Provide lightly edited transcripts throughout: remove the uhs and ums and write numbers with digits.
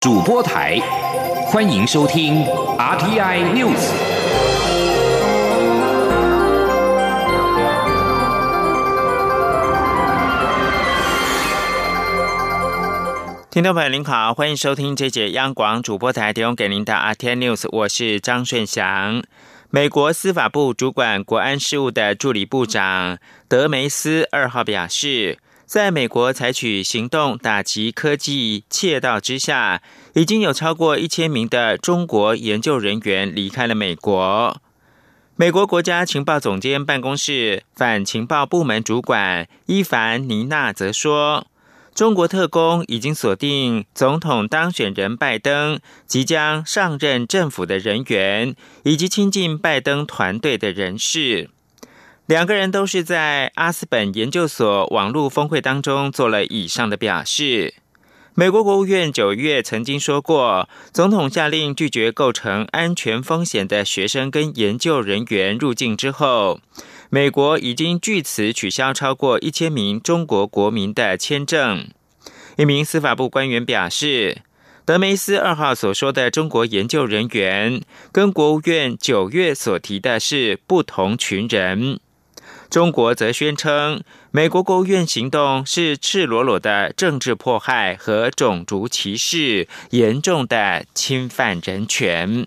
主播台，欢迎收听 RTI News。 听众朋友您好，欢迎收听这节央广主播台提供给您的 RTI News， 我是张顺祥。美国司法部主管国安事务的助理部长德梅斯2号表示，在美国采取行动打击科技窃盗之下，已经有超过1000名的中国研究人员离开了美国。美国国家情报总监办公室反情报部门主管伊凡尼娜则说，中国特工已经锁定总统当选人拜登即将上任政府的人员，以及亲近拜登团队的人士。两个人都是在阿斯本研究所网络峰会当中做了以上的表示。美国国务院9月曾经说过，总统下令拒绝构成安全风险的学生跟研究人员入境之后，美国已经据此取消超过1000名中国国民的签证。一名司法部官员表示，德梅斯2号所说的中国研究人员跟国务院9月所提的是不同群人。中国则宣称，美国国务院行动是赤裸裸的政治迫害和种族歧视，严重的侵犯人权。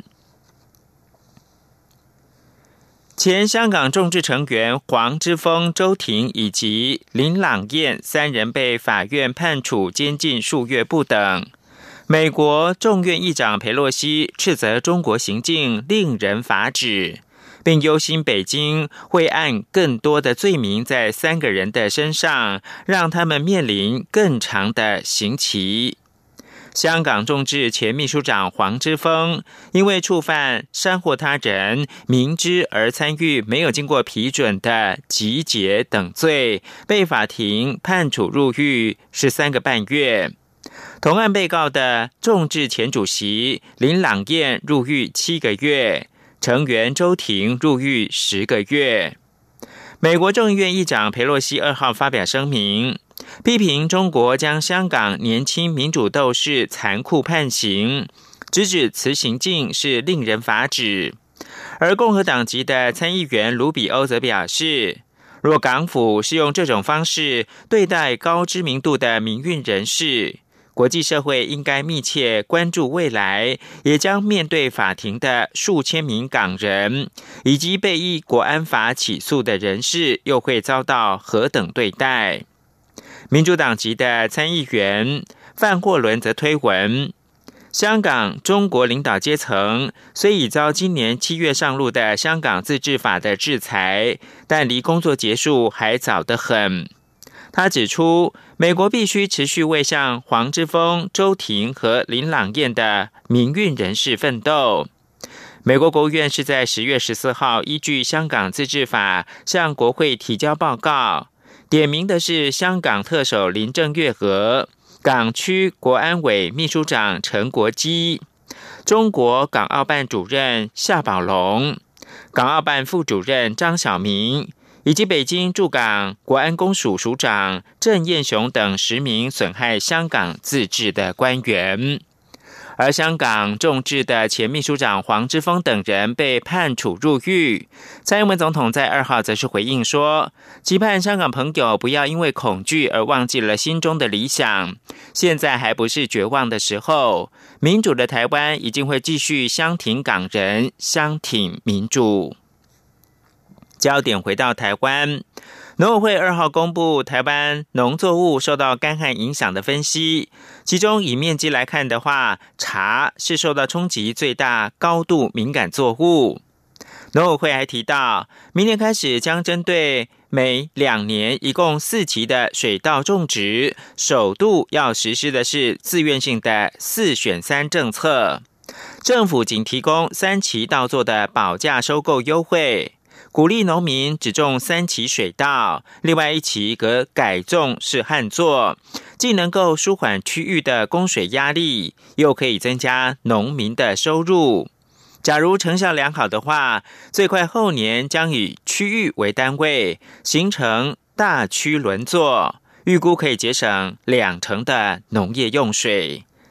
前香港众志成员黄之锋、周庭以及林朗彦3人被法院判处监禁数月不等。美国众院议长裴洛西斥责中国行径令人发指，并忧心北京会按更多的罪名在3个人的身上，让他们面临更长的刑期。香港众志前秘书长黄之锋因为触犯煽惑他人明知而参与没有经过批准的集结等罪，被法庭判处入狱13个半月。同案被告的众志前主席林朗彦入狱7个月，成员周庭入狱10个月。美国众议院议长裴洛西2号发表声明，批评中国将香港年轻民主斗士残酷判刑，直指此行径是令人发指。而共和党籍的参议员卢比欧则表示，若港府是用这种方式对待高知名度的民运人士，国际社会应该密切关注未来也将面对法庭的数千名港人，以及被依国安法起诉的人士又会遭到何等对待。民主党籍的参议员范霍伦则推文，香港中国领导阶层虽已遭今年7月上路的香港自治法的制裁，但离工作结束还早得很。他指出，美国必须持续为向黄之锋、周庭和林朗彦的民运人士奋斗。美国国务院是在10月14号依据香港自治法向国会提交报告，点名的是香港特首林郑月娥、港区国安委秘书长陈国基、中国港澳办主任夏宝龙、港澳办副主任张晓明，以及北京驻港国安公署署长郑燕雄等10名损害香港自治的官员。而香港众志的前秘书长黄之锋等人被判处入狱。蔡英文总统在2号则是回应说，期盼香港朋友不要因为恐惧而忘记了心中的理想，现在还不是绝望的时候，民主的台湾一定会继续相挺港人，相挺民主。焦点回到台湾，农委会2号公布台湾农作物受到干旱影响的分析，其中以面积来看的话，茶是受到冲击最大、高度敏感作物。农委会还提到，明年开始将针对每2年一共4期的水稻种植，首度要实施的是自愿性的4选3政策，政府仅提供3期稻作的保价收购优惠，鼓励农民只种3期水稻，另外1期则改种是旱作，既能够舒缓区域的供水压力，又可以增加农民的收入。假如成效良好的话，最快后年将以区域为单位，形成大区轮作，预估可以节省2成的农业用水。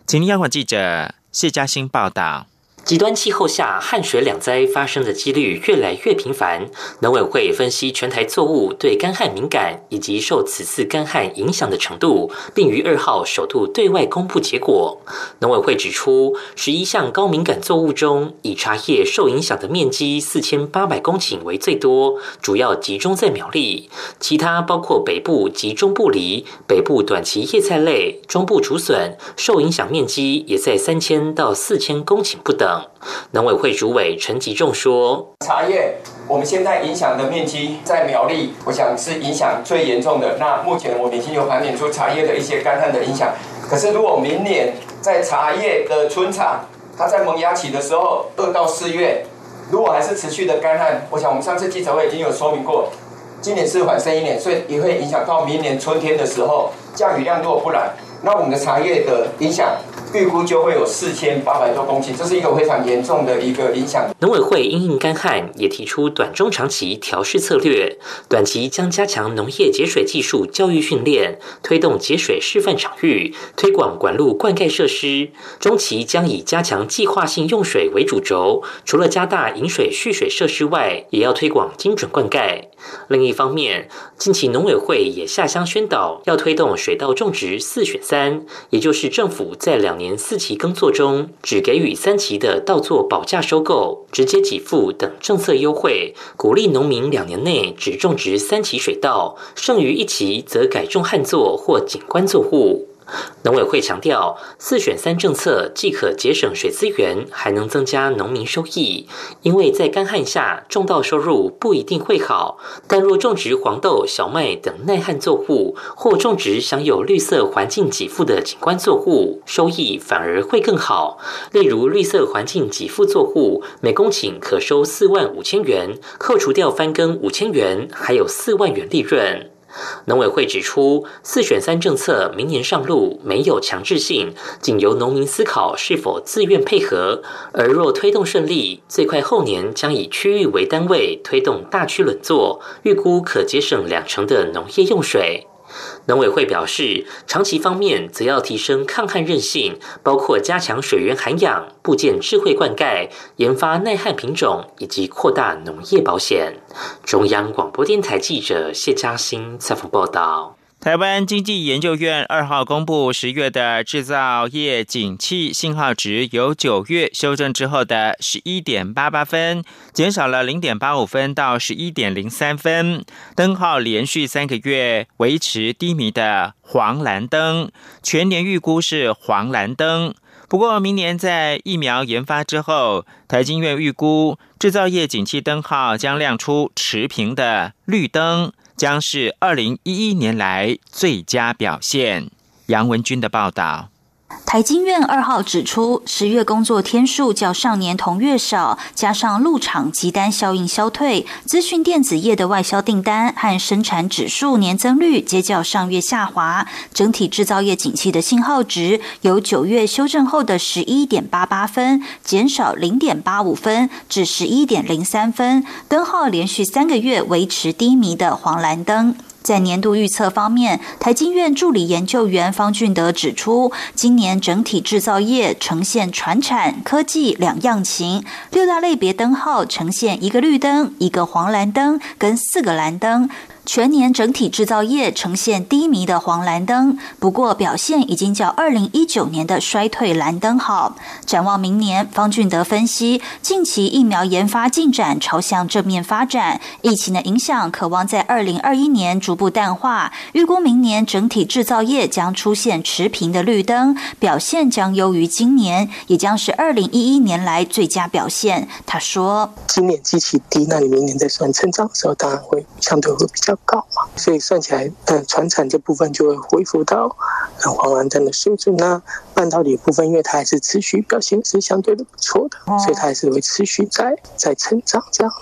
请听央广记者谢嘉欣报道。 极端气候下，旱水两灾发生的几率越来越频繁。农委会分析全台作物对干旱敏感以及受此次干旱影响的程度，并于2号首度对外公布结果。农委会指出，11项高敏感作物中，以茶叶受影响的面积4800公顷为最多，主要集中在苗栗。其他包括北部及中部梨、北部短期叶菜类、中部竹笋，受影响面积也在3000到4000公顷不等。农委会主委陈吉仲说：“ 茶叶我们现在影响的面积在苗栗，我想是影响最严重的。那目前我们已经有盘点出茶叶的一些干旱的影响。可是如果明年在茶叶的春场，它在萌芽期的时候，2到4月，如果还是持续的干旱，我想我们上次记者会已经有说明过，今年是缓升1年，所以也会影响到明年春天的时候，降雨量如果不然，那我们的茶叶的影响。”预估就会有4800多公顷，这是一个非常严重的一个影响。 农委会因应干旱，也提出短中长期调适策略。短期将加强农业节水技术教育训练，推动节水示范场域，推广管路灌溉设施。中期将以加强计划性用水为主轴，除了加大饮水蓄水设施外，也要推广精准灌溉。另一方面，近期农委会也下乡宣导，要推动水稻种植4选3，也就是政府在2年4期耕作中，只给予3期的稻作保价收购、直接给付等政策优惠，鼓励农民2年内只种植3期水稻，剩余1期则改种旱作或景观作物。农委会强调，4选3政策既可节省水资源，还能增加农民收益。因为在干旱下，种稻收入不一定会好，但若种植黄豆、小麦等耐旱作物，或种植享有绿色环境给付的景观作物，收益反而会更好。例如，绿色环境给付作物每公顷可收45000元，扣除掉翻耕5000元，还有4万元利润。农委会指出，4选3政策明年上路，没有强制性，仅由农民思考是否自愿配合。而若推动顺利，最快后年将以区域为单位推动大区轮作，预估可节省20%的农业用水。农委会表示，长期方面则要提升抗旱韧性，包括加强水源涵养、布建智慧灌溉、研发耐旱品种以及扩大农业保险。中央广播电台记者谢嘉欣采访报道。 台湾经济研究院2号公布10月的制造业景气信号值，由9月修正之后的 11.88 分，减少了 0.85 分到 11.03 分，灯号连续3个月维持低迷的黄蓝灯，全年预估是黄蓝灯。不过明年在疫苗研发之后，台经院预估制造业景气灯号将亮出持平的绿灯，将是2011年来最佳表现。杨文君的报道。 台经院2号指出，10月工作天数较上年同月少，加上入场急单效应消退，资讯电子业的外销订单和生产指数年增率皆较上月下滑，整体制造业景气的信号值由9月修正后的 11.88 分减少 0.85 分至 11.03 分，灯号连续3个月维持低迷的黄蓝灯。在年度预测方面，台经院助理研究员方俊德指出，今年整体制造业呈现传产、科技两样情，6大类别灯号呈现1个绿灯、1个黄蓝灯跟4个蓝灯。全年整体制造业呈现低迷的黄蓝灯，不过表现已经较2019年的衰退蓝灯好。展望明年，方俊德分析，近期疫苗研发进展朝向正面发展，疫情的影响可望在2021年逐步淡化，预估明年整体制造业将出现持平的绿灯，表现将优于今年，也将是2011年来最佳表现。他说， 今年基期低，那你明年在算成长的时候，当然会相对会比较高嘛，所以算起来，传产这部分就会恢复到黄蓝灯的水准。那半导体部分，因为它还是持续表现是相对的不错的，所以它还是会持续在成长这样子。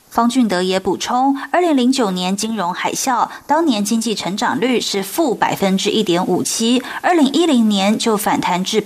方俊德也补充，2009年金融海啸，当年经济成长率是负1.57%，2010年就反弹至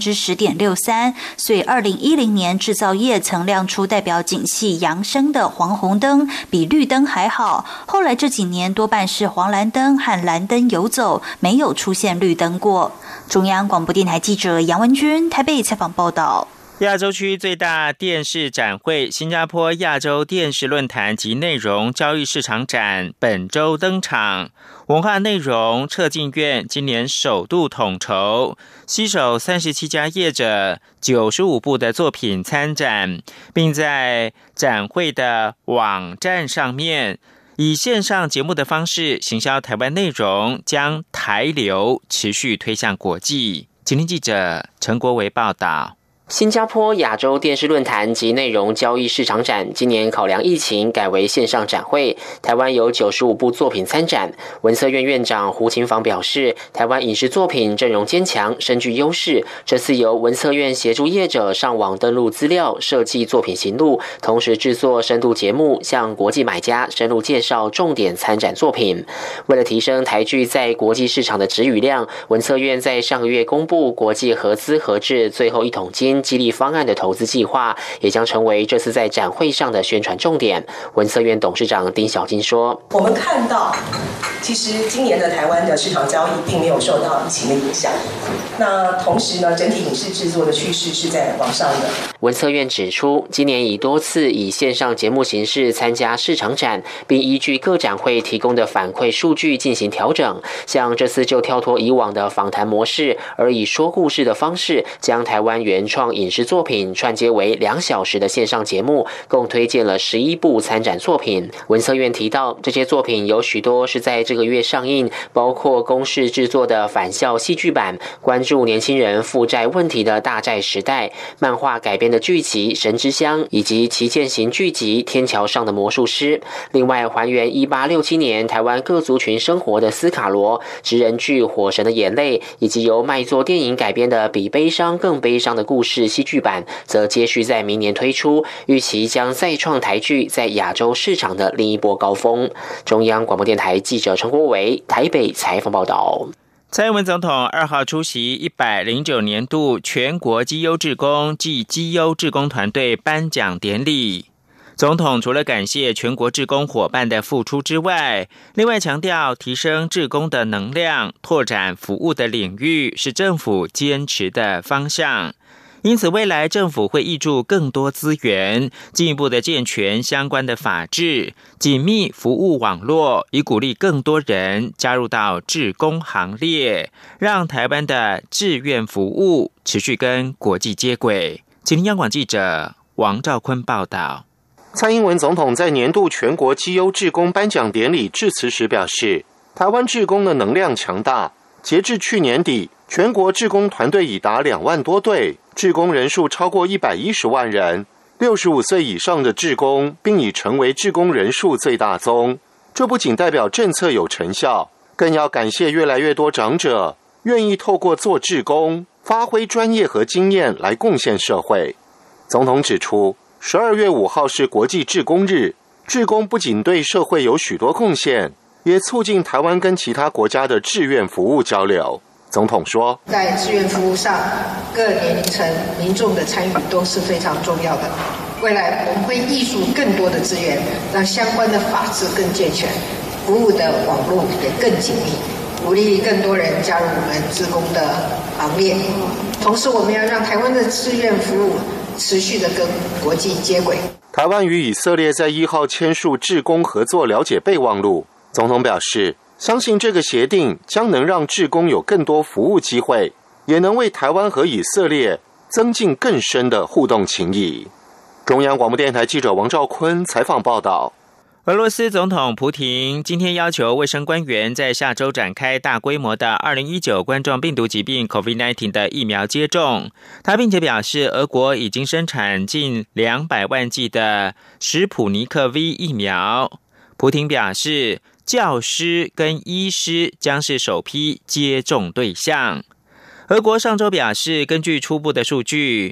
10.63%，所以2010年制造业曾亮出代表景气扬升的黄红灯，比绿灯还好。后来这几年多半是黄蓝灯和蓝灯游走，没有出现绿灯过。中央广播电台记者杨文君台北采访报道。 亚洲区最大电视展会新加坡亚洲电视论坛及内容交易市场展本周登场，文化内容策进院今年首度统筹，携手37家业者95部的作品参展，并在展会的网站上面以线上节目的方式行销台湾内容，将台流持续推向国际。请听记者陈国维报道。 新加坡亚洲电视论坛及内容交易市场展今年考量疫情改为线上展会，台湾有95部作品参展。文策院院长胡勤房表示，台湾影视作品阵容坚强，深具优势。这次由文策院协助业者上网登录资料，设计作品型录，同时制作深度节目，向国际买家深入介绍重点参展作品。为了提升台剧在国际市场的质与量，文策院在上个月公布国际合资合制最后一桶金激励方案的投资计划，也将成为这次在展会上的宣传重点。文策院董事长丁小金说：“ 我们看到，其实今年的台湾的市场交易并没有受到疫情的影响。那同时呢，整体影视制作的趋势是在往上的。” 文策院指出，今年已多次以线上节目形式参加市场展，并依据各展会提供的反馈数据进行调整。像这次就跳脱以往的访谈模式，而以说故事的方式，将台湾原创影视作品串接为2小时的线上节目，共推荐了11部参展作品。文策院提到，这些作品有许多是在这个月上映，包括公视制作的返校戏剧版，关注年轻人负债问题的大债时代，漫画改编的剧集《神之乡》，以及旗舰型剧集《天桥上的魔术师》。另外，还原1867年台湾各族群生活的斯卡罗，职人剧《火神的眼泪》，以及由卖座电影改编的《比悲伤更悲伤的故事》戏剧版，则接续在明年推出，预期将再创台剧在亚洲市场的另一波高峰。中央广播电台记者陈国维台北采访报道。 蔡英文总统2号出席109年度全国绩优志工暨绩优志工团队颁奖典礼。总统除了感谢全国志工伙伴的付出之外，另外强调提升志工的能量，拓展服务的领域是政府坚持的方向。因此，未来政府会挹注更多资源，进一步的健全相关的法制，紧密服务网络，以鼓励更多人加入到志工行列，让台湾的志愿服务持续跟国际接轨。请听央广记者王兆坤报道。 蔡英文总统在年度全国绩优志工颁奖典礼致辞时表示，台湾志工的能量强大，截至去年底，全国志工团队已达2万多队，志工人数超过110万人，65岁以上的志工并已成为志工人数最大宗。这不仅代表政策有成效，更要感谢越来越多长者愿意透过做志工，发挥专业和经验来贡献社会。总统指出，12月5号是国际志工日，志工不仅对社会有许多贡献，也促进台湾跟其他国家的志愿服务交流。总统说， 在志愿服务上，各年龄层民众的参与都是非常重要的。未来我们会挹注更多的资源，让相关的法制更健全，服务的网络也更紧密，鼓励更多人加入我们志工的行列。同时，我们要让台湾的志愿服务持续的跟国际接轨。 台湾与以色列在1号签署志工合作了解备忘录，总统表示，相信这个协定将能让志工有更多服务机会，也能为台湾和以色列增进更深的互动情谊。中央广播电台记者王兆坤采访报道。 俄罗斯总统普亭今天要求卫生官员在下周展开大规模的2019冠状病毒疾病 COVID-19 的疫苗接种。他并且表示，俄国已经生产近200万剂的史普尼克 V 疫苗。普亭表示，教师跟医师将是首批接种对象。俄国上周表示，根据初步的数据，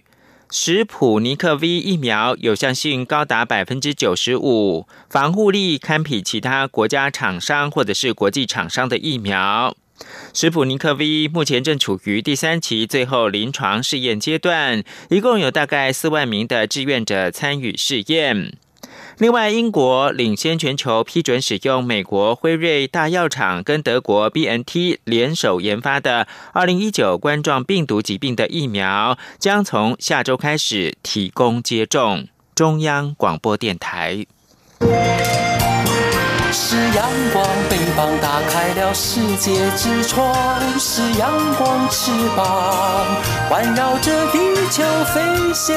史普尼克 V 疫苗有效性高达 95%， 防护力堪比其他国家厂商或者是国际厂商的疫苗。史普尼克 V 目前正处于第3期最后临床试验阶段，一共有大概4万名的志愿者参与试验。另外，英国领先全球批准使用美国辉瑞大药厂跟德国 BNT 联手研发的2019冠状病毒疾病的疫苗，将从下周开始提供接种。中央广播电台。 是阳光，翅膀打开了世界之窗，是阳光翅膀环绕着地球飞翔。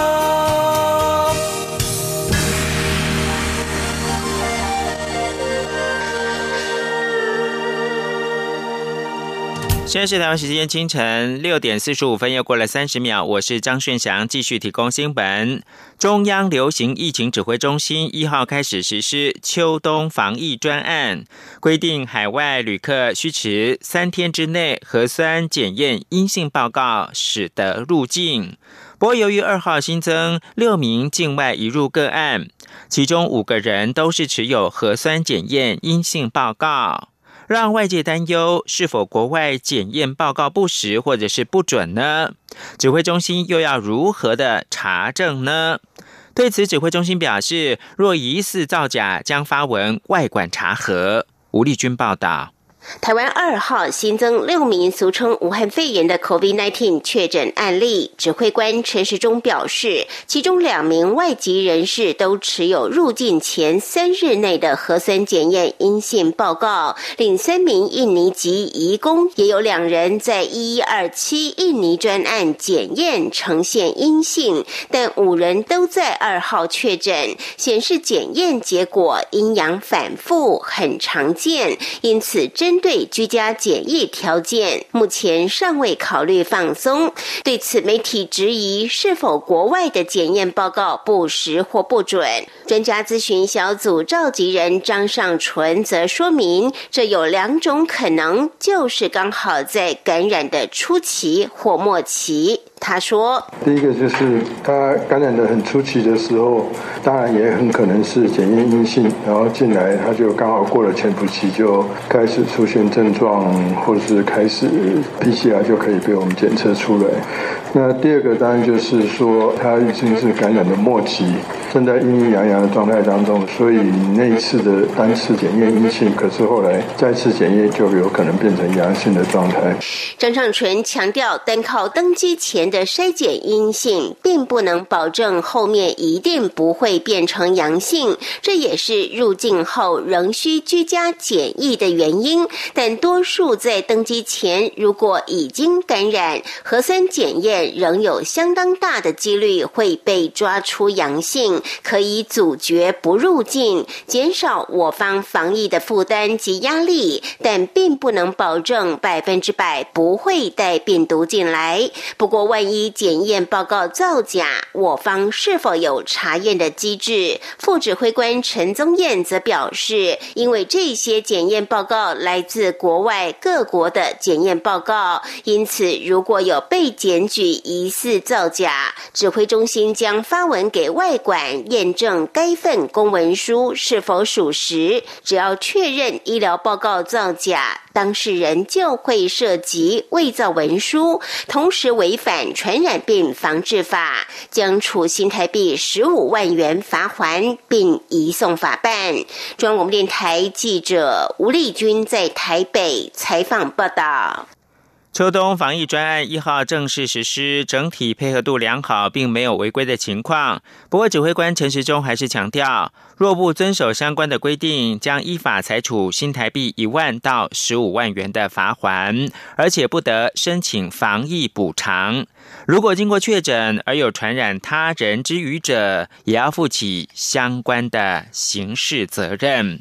现在是台湾时间清晨6点45分，又过了30秒。我是张顺祥，继续提供新闻。中央流行疫情指挥中心1号开始实施秋冬防疫专案，规定海外旅客需持3天之内核酸检验阴性报告，使得入境。不过，由于2号新增6名境外移入个案，其中5个人都是持有核酸检验阴性报告，让外界担忧是否国外检验报告不实或者是不准呢？指挥中心又要如何的查证呢？对此，指挥中心表示，若疑似造假，将发文外管查核。吴丽君报道。 台湾2号新增6名俗称武汉肺炎的 COVID-19 确诊案例，指挥官陈时中表示，其中2名外籍人士都持有入境前3日内的核酸检验阴性报告，另3名印尼籍移工也有2人在1127印尼专案检验呈现阴性，但5人都在2号确诊，显示检验结果阴阳反复，很常见，因此针对居家检疫条件，目前尚未考虑放松。对此，媒体质疑是否国外的检验报告不实或不准。专家咨询小组召集人张尚纯则说明，这有2种可能，就是刚好在感染的初期或末期。他说， 第一个就是他感染的很初期的时候，当然也很可能是检验阴性，然后进来他就刚好过了潜伏期，就开始出现症状，或者是开始 PCR 就可以被我们检测出来。那第二个当然就是说他已经是感染的末期，正在阴阴阳阳的状态当中，所以那一次的单次检验阴性，可是后来再次检验就有可能变成阳性的状态。 张尚纯强调，单靠登机前的筛检阴性，并不能保证后面一定不会变成阳性，这也是入境后仍需居家检疫的原因。但多数在登机前如果已经感染，核酸检验仍有相当大的几率会被抓出阳性，可以阻绝不入境，减少我方防疫的负担及压力，但并不能保证100%不会带病毒进来。不过万一检验报告造假，我方是否有查验的机制？副指挥官陈宗彦则表示，因为这些检验报告来自国外各国的检验报告，因此如果有被检举疑似造假，指挥中心将发文给外管验证该份公文书是否属实。只要确认医疗报告造假，当事人就会涉及伪造文书，同时违反传染病防治法，将处新台币15万元罚锾，并移送法办。中央广播电台记者吴丽君在台北采访报道。 秋冬防疫专案1号正式实施，整体配合度良好，并没有违规的情况。不过，指挥官陈时中还是强调，若不遵守相关的规定，将依法裁处新台币1万到15万元的罚锾，而且不得申请防疫补偿。如果经过确诊而有传染他人之余者，也要负起相关的刑事责任。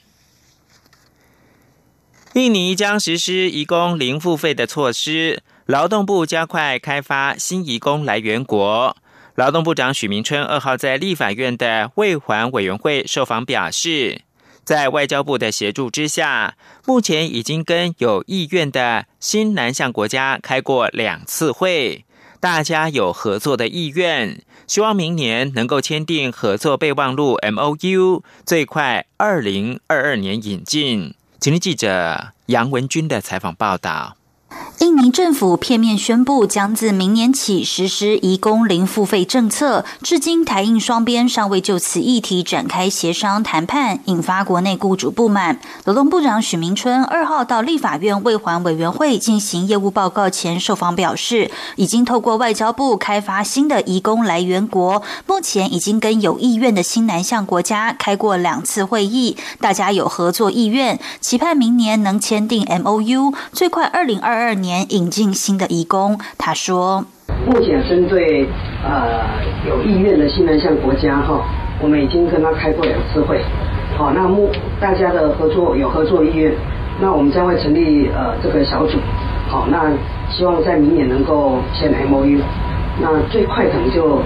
印尼将实施移工零付费的措施，劳动部加快开发新移工来源国。劳动部长许明春2号在立法院的卫环委员会受访表示，在外交部的协助之下，目前已经跟有意愿的新南向国家开过2次会， 大家有合作的意愿，希望明年能够签订合作备忘录 MOU， 最快2022年引进。今天记者杨文君的采访报道。 印尼政府片面宣布将自明年起实施移工零付费政策，至今台印双边尚未就此议题展开协商谈判，引发国内雇主不满。劳动部长许明春2号到立法院卫环委员会进行业务报告前受访表示，已经透过外交部开发新的移工来源国，目前已经跟有意愿的新南向国家开过2次会议，大家有合作意愿，期盼明年能签订 MOU， 最快2022年引进新的移工。他说， 目前针对有意愿的新南向国家我们已经跟他开过2次会，那大家的合作意愿，那我们将会成立这个小组，那希望在明年能够签 MOU， 那最快可能就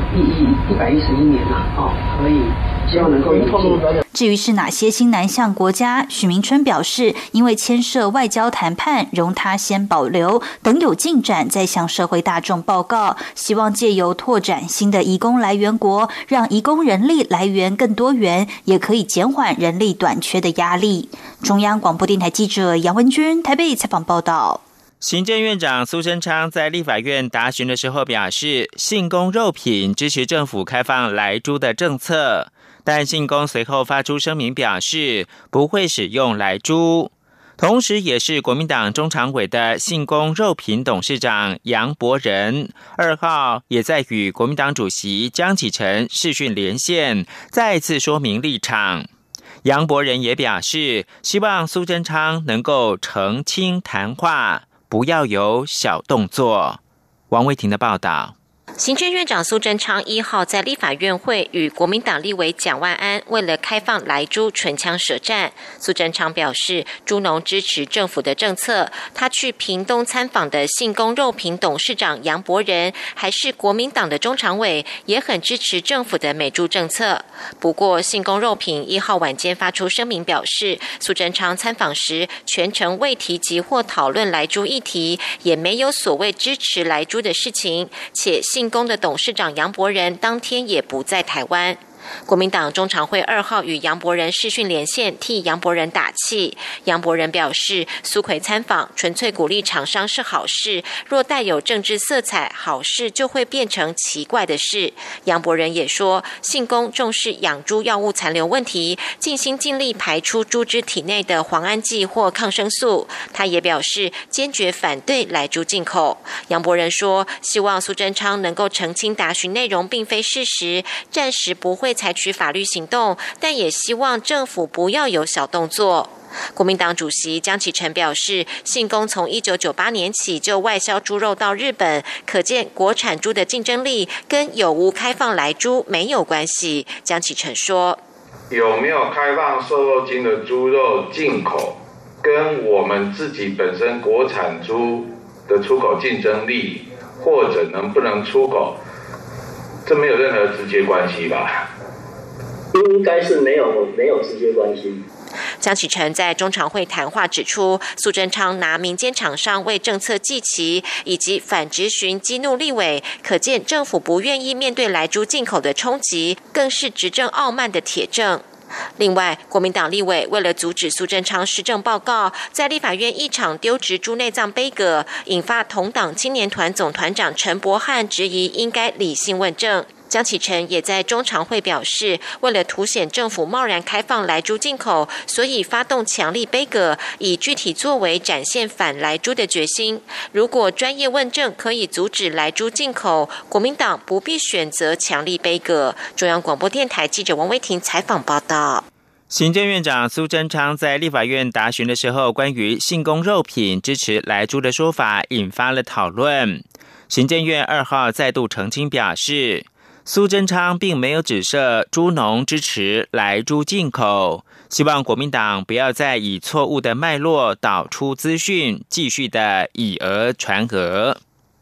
111年了，可以希望能够引进。 至于是哪些新南向国家，许明春表示，因为牵涉外交谈判，容他先保留，等有进展再向社会大众报告。希望借由拓展新的移工来源国，让移工人力来源更多元，也可以减缓人力短缺的压力。中央广播电台记者杨文君台北采访报道。 行政院长苏贞昌在立法院答询的时候表示，信公肉品支持政府开放来猪的政策，但信公随后发出声明表示不会使用来猪。同时也是国民党中常委的信公肉品董事长杨博仁2号也在与国民党主席江启臣视讯连线，再次说明立场。杨博仁也表示，希望苏贞昌能够澄清谈话，不要有小动作。王维婷的报道。 行政院长苏贞昌1号在立法院会与国民党立委蒋万安为了开放来猪唇枪舌战。苏贞昌表示，猪农支持政府的政策。他去屏东参访的信公肉品董事长杨博仁，还是国民党的中常委，也很支持政府的美猪政策。不过，信公肉品1号晚间发出声明表示，苏贞昌参访时全程未提及或讨论来猪议题，也没有所谓支持来猪的事情，且信公的董事长杨博仁当天也不在台湾。国民党中常会2号与杨博仁视讯连线，替杨博仁打气。杨博仁表示，苏揆参访纯粹鼓励厂商是好事，若带有政治色彩，好事就会变成奇怪的事。杨博仁也说，信公重视养猪药物残留问题，尽心尽力排出猪只体内的磺胺剂或抗生素。他也表示，坚决反对来猪进口。杨博仁说，希望苏贞昌能够澄清答询内容并非事实，暂时不会采取法律行动，但也希望政府不要有小动作。国民党主席江启臣表示，信公从1998年起就外销猪肉到日本，可见国产猪的竞争力跟有无开放来猪没有关系。江启臣说， 有没有开放瘦肉精的猪肉进口，跟我们自己本身国产猪的出口竞争力，或者能不能出口，这没有任何直接关系吧？ 应该是没有直接关系。 江启臣在中常会谈话指出，苏贞昌拿民间厂商为政策祭旗，以及反质询激怒立委，可见政府不愿意面对来猪进口的冲击，更是执政傲慢的铁证。另外，国民党立委为了阻止苏贞昌施政报告，在立法院一场丢掷猪内脏杯葛，引发同党青年团总团长陈柏翰质疑应该理性问政。江启臣也在中常会表示，为了凸显政府贸然开放来猪进口，所以发动强力杯葛，以具体作为展现反来猪的决心。如果专业问政可以阻止来猪进口，国民党不必选择强力杯葛。中央广播电台记者王威婷采访报道。 行政院长苏贞昌在立法院答询的时候，关于信公肉品支持来猪的说法引发了讨论。行政院2号再度澄清表示，苏贞昌并没有指涉猪农支持来猪进口，希望国民党不要再以错误的脉络导出资讯，继续的以讹传讹。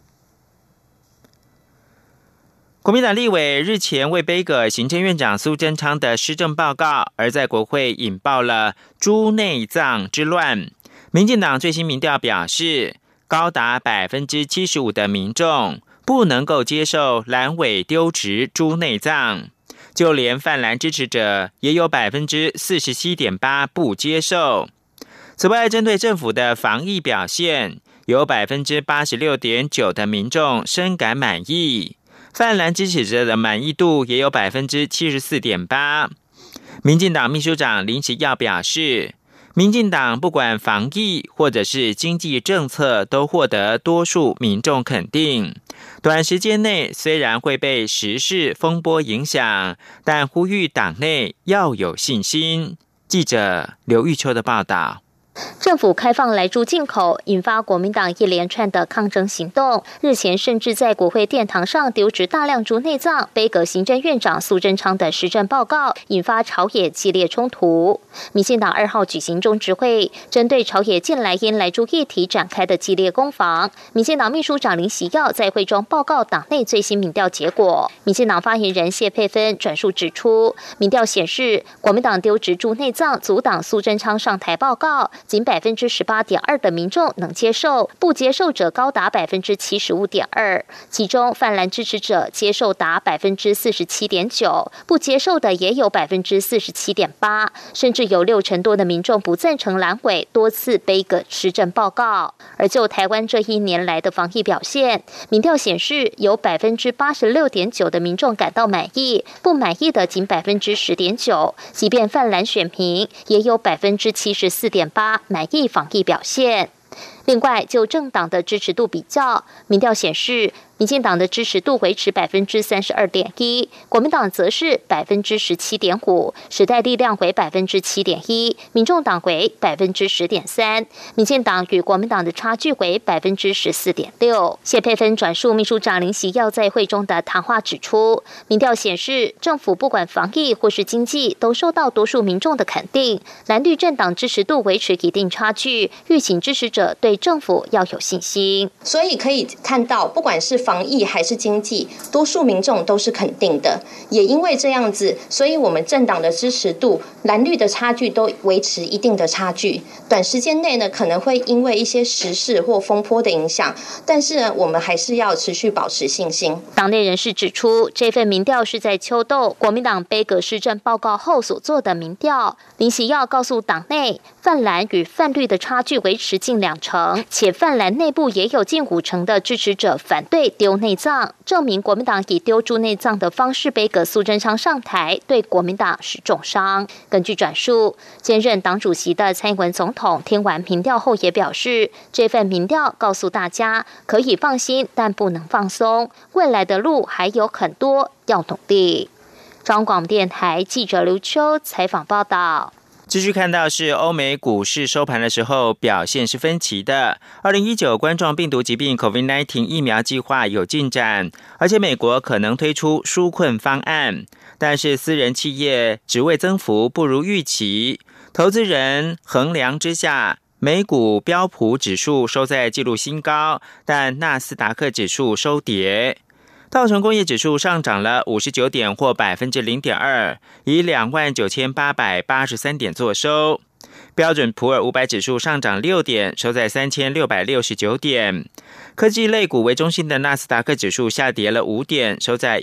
国民党立委日前为杯葛行政院长苏贞昌的施政报告，而在国会引爆了猪内脏之乱。民进党最新民调表示，高达75%的民众不能够接受蓝委丢植猪内脏，就连泛蓝支持者也有 47.8% 不接受。此外，针对政府的防疫表现，有 86.9% 的民众深感满意，泛蓝支持者的满意度也有 74.8%。民进党秘书长林奇耀表示，民进党不管防疫或者是经济政策都获得多数民众肯定，短时间内虽然会被时事风波影响，但呼吁党内要有信心。记者刘玉秋的报道。 政府开放来猪进口，引发国民党一连串的抗争行动。日前甚至在国会殿堂上丢掷大量猪内脏，杯葛行政院长苏贞昌的施政报告，引发朝野激烈冲突。民进党2号举行中执会，针对朝野近来因来猪议题展开的激烈攻防，民进党秘书长林喜耀在会中报告党内最新民调结果。民进党发言人谢佩芬转述指出，民调显示国民党丢掷猪内脏阻挡苏贞昌上台报告，仅18.2% 的民众能接受，不接受者高达 75.2%， 其中泛蓝支持者接受达 47.9%， 不接受的也有 47.8%， 甚至有60%多的民众不赞成蓝委多次杯葛施政报告。而就台湾这1年来的防疫表现，民调显示有 86.9% 的民众感到满意，不满意的仅 10.9%， 即便泛蓝选民也有 74.8% 满意防疫表现。另外，就政党的支持度比较，民调显示，民进党的支持度维持 32.1%， 国民党则是 17.5%， 时代力量为 7.1%， 民众党为 10.3%， 民进党与国民党的差距为 14.6%。谢佩芬转述秘书长林喜耀在会中的谈话指出，民调显示，政府不管防疫或是经济，都受到多数民众的肯定，蓝绿政党支持度维持一定差距，吁请支持者对政府要有信心。 所以可以看到，不管是防疫还是经济，多数民众都是肯定的。也因为这样子，所以我们政党的支持度，蓝绿的差距都维持一定的差距。短时间内呢，可能会因为一些时事或风波的影响，但是呢，我们还是要持续保持信心。 党内人士指出，这份民调是在秋斗国民党杯葛施政报告后所做的民调。林喜耀告诉党内，泛蓝与泛绿的差距维持近20%，且泛蓝内部也有近50%的支持者反对丢内脏，证明国民党以丢猪内脏的方式杯葛苏贞昌上台，对国民党是重伤。根据转述，兼任党主席的蔡英文总统听完民调后也表示，这份民调告诉大家可以放心，但不能放松，未来的路还有很多，要努力。中央广播电台记者刘秋采访报道。 继续看到是欧美股市收盘的时候表现是分歧的。2019冠状病毒疾病 COVID-19 疫苗计划有进展，而且美国可能推出纾困方案，但是私人企业职位增幅不如预期。投资人衡量之下，美股标普指数收在纪录新高，但纳斯达克指数收跌。道琼工业指数上涨了59点或 0.2%， 以 29,883 点作收。标准普尔500指数上涨6点，收在 3,669 点。科技类股为中心的纳斯达克指数下跌了5点，收在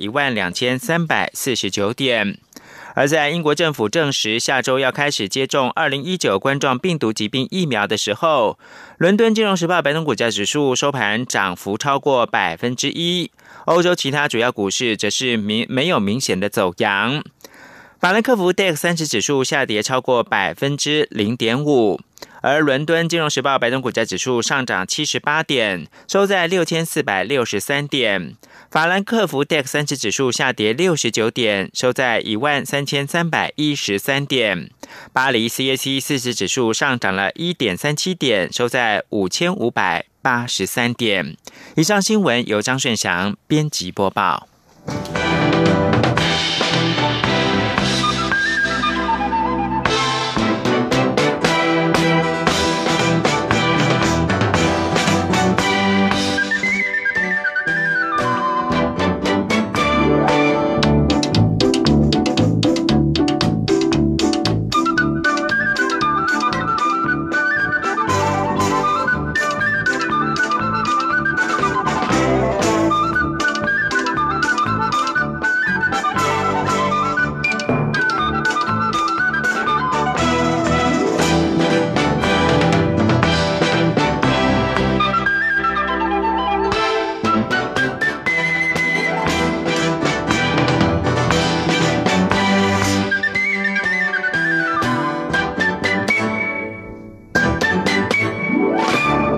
12,349 点。而在英国政府证实下周要开始接种2019冠状病毒疾病疫苗的时候，伦敦金融时报白铜股价指数收盘涨幅超过 1%， 欧洲其他主要股市则是没有明显的走阳。法兰克福 DAX 30指数下跌超过 0.5%， 而伦敦金融时报白铜股价指数上涨78点，收在 6,463 点。法兰克福 DAX 30指数下跌69点，收在 13,313 点。巴黎 CAC 40指数上涨了 1.37 点，收在 5,583 点。以上新闻由张顺祥编辑播报。